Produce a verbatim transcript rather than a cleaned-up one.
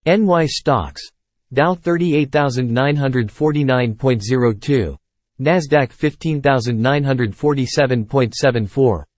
N Y stocks. Dow thirty-eight thousand nine hundred forty-nine point zero two. Nasdaq fifteen thousand nine hundred forty-seven point seven four.